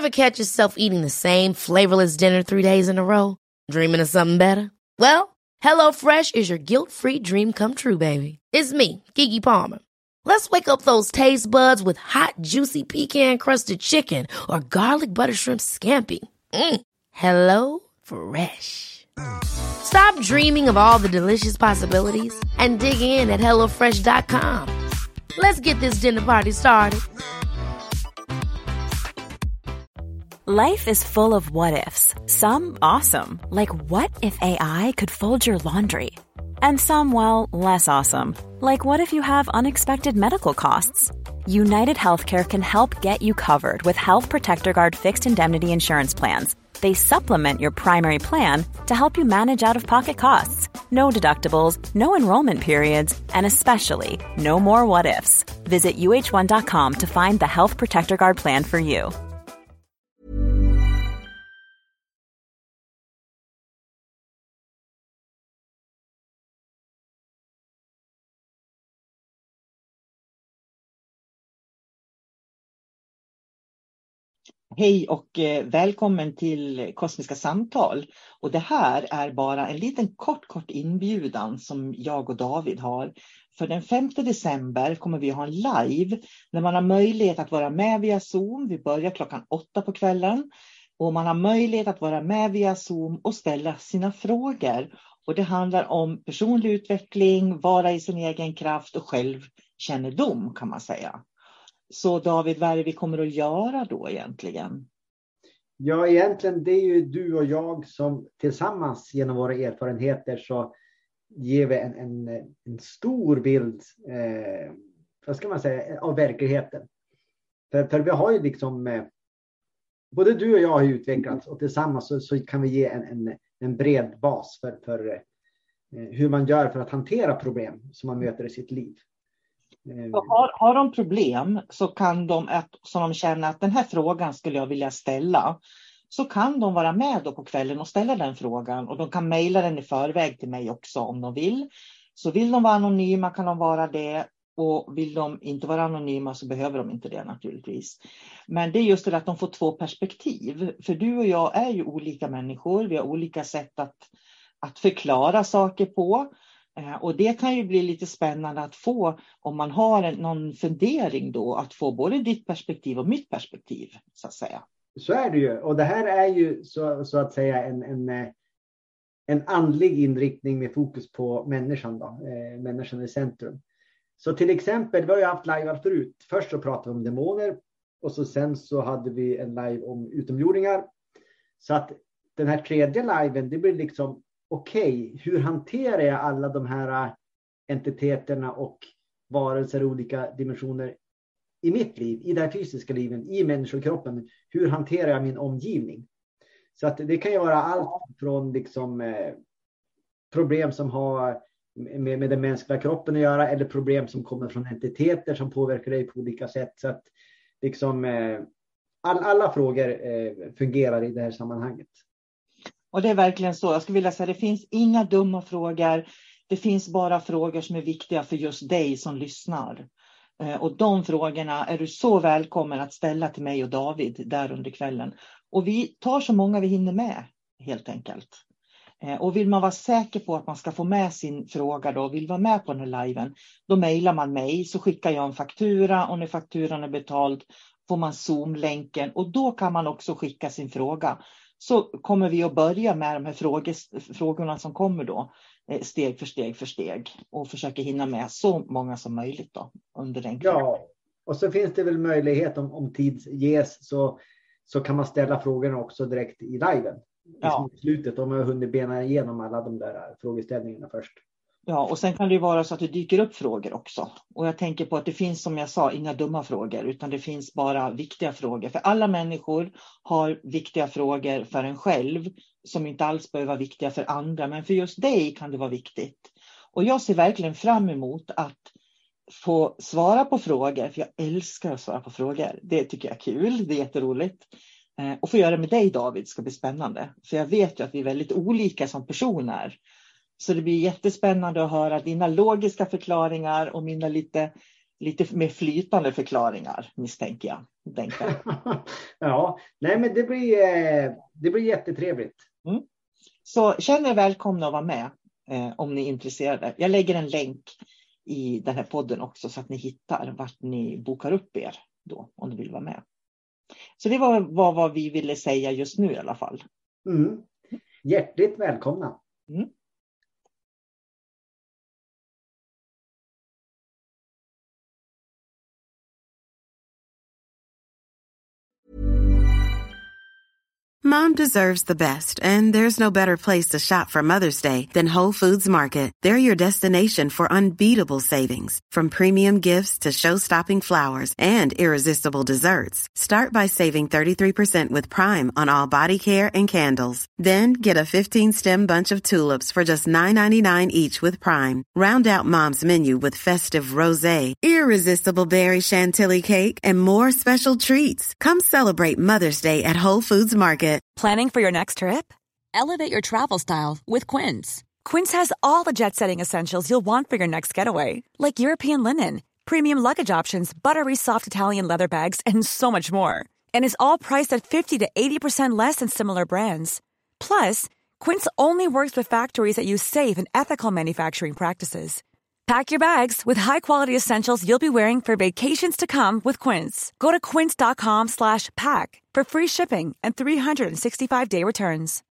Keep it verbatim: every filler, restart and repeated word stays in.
Ever catch yourself eating the same flavorless dinner three days in a row? Dreaming of something better? Well, HelloFresh is your guilt-free dream come true, baby. It's me, Keke Palmer. Let's wake up those taste buds with hot, juicy pecan-crusted chicken or garlic butter shrimp scampi. Mm. Hello Fresh. Stop dreaming of all the delicious possibilities and dig in at hello fresh dot com. Let's get this dinner party started. Life is full of what-ifs. Some awesome, like what if A I could fold your laundry? And some, well, less awesome, like what if you have unexpected medical costs? United Healthcare can help get you covered with Health Protector Guard fixed indemnity insurance plans. They supplement your primary plan to help you manage out-of-pocket costs. No deductibles, no enrollment periods, and especially no more what-ifs. Visit U H one dot com to find the Health Protector Guard plan for you. Hej och eh, välkommen till Kosmiska samtal. Och det här är bara en liten kort kort inbjudan som jag och David har. För den femte december kommer vi ha en live när man har möjlighet att vara med via Zoom. Vi börjar klockan åtta på kvällen. Och man har möjlighet att vara med via Zoom och ställa sina frågor. Och det handlar om personlig utveckling, vara i sin egen kraft och självkännedom kan man säga. Så David, vad är det vi kommer att göra då egentligen? Ja, egentligen det är ju du och jag som tillsammans genom våra erfarenheter så ger vi en, en, en stor bild eh, vad ska man säga, av verkligheten. För, för vi har ju liksom, eh, både du och jag har utvecklats och tillsammans så, så kan vi ge en, en, en bred bas för, för eh, hur man gör för att hantera problem som man möter i sitt liv. Har, har de problem så kan de, att, som de känner att den här frågan skulle jag vilja ställa, så kan de vara med då på kvällen och ställa den frågan. Och de kan mejla den i förväg till mig också om de vill. Så vill de vara anonyma kan de vara det. Och vill de inte vara anonyma så behöver de inte det naturligtvis. Men det är just det att de får två perspektiv. För du och jag är ju olika människor. Vi har olika sätt att, att förklara saker på. Och det kan ju bli lite spännande att få, om man har en, någon fundering då, att få både ditt perspektiv och mitt perspektiv så att säga. Så är det ju, och det här är ju så, så att säga en, en, en andlig inriktning med fokus på människan då, eh, människan i centrum. Så till exempel, vi har ju haft live förut, först så pratade vi om demoner och så sen så hade vi en live om utomjordingar. Så att den här tredje liven, det blir liksom okej, okay, hur hanterar jag alla de här entiteterna och varelser i olika dimensioner i mitt liv, i det här fysiska livet, i människokroppen? Hur hanterar jag min omgivning? Så att det kan ju vara allt från liksom, eh, problem som har med, med den mänskliga kroppen att göra, eller problem som kommer från entiteter som påverkar dig på olika sätt. Så att liksom, eh, all, alla frågor eh, fungerar i det här sammanhanget. Och det är verkligen så. Jag skulle vilja säga att det finns inga dumma frågor. Det finns bara frågor som är viktiga för just dig som lyssnar. Och de frågorna är du så välkommen att ställa till mig och David där under kvällen. Och vi tar så många vi hinner med helt enkelt. Och vill man vara säker på att man ska få med sin fråga då, vill vara med på den här liven, då mejlar man mig, så skickar jag en faktura och när fakturan är betald får man Zoom-länken och då kan man också skicka sin fråga. Så kommer vi att börja med de här frågor, frågorna som kommer då, steg för steg för steg. Och försöka hinna med så många som möjligt då under den kvällen. Ja, och så finns det väl möjlighet om, om tid ges så, så kan man ställa frågorna också direkt i liven. Ja. I slutet om jag hunnit bena igenom alla de där frågeställningarna först. Ja, och sen kan det ju vara så att det dyker upp frågor också. Och jag tänker på att det finns, som jag sa, inga dumma frågor. Utan det finns bara viktiga frågor. För alla människor har viktiga frågor för en själv. Som inte alls behöver vara viktiga för andra. Men för just dig kan det vara viktigt. Och jag ser verkligen fram emot att få svara på frågor. För jag älskar att svara på frågor. Det tycker jag är kul. Det är jätteroligt. Och få göra det med dig, David, ska bli spännande. För jag vet ju att vi är väldigt olika som personer. Så det blir jättespännande att höra dina logiska förklaringar och mina lite lite mer flytande förklaringar, misstänker jag. Ja, nej men det blir, det blir jättetrevligt. Mm. Så känn er välkomna att vara med eh, om ni är intresserade. Jag lägger en länk i den här podden också så att ni hittar vart ni bokar upp er då om ni vill vara med. Så det var vad, vad vi ville säga just nu i alla fall. Mm. Hjärtligt välkomna. Mm. Mom deserves the best, and there's no better place to shop for Mother's Day than Whole Foods Market. They're your destination for unbeatable savings, from premium gifts to show-stopping flowers and irresistible desserts. Start by saving thirty-three percent with Prime on all body care and candles. Then get a fifteen-stem bunch of tulips for just nine ninety-nine each with Prime. Round out Mom's menu with festive rosé, irresistible berry chantilly cake, and more special treats. Come celebrate Mother's Day at Whole Foods Market. Planning for your next trip? Elevate your travel style with Quince. Quince has all the jet-setting essentials you'll want for your next getaway, like European linen, premium luggage options, buttery soft Italian leather bags, and so much more. And is all priced at fifty to eighty percent less than similar brands. Plus, Quince only works with factories that use safe and ethical manufacturing practices. Pack your bags with high-quality essentials you'll be wearing for vacations to come with Quince. Go to quince.com slash pack for free shipping and three sixty-five day returns.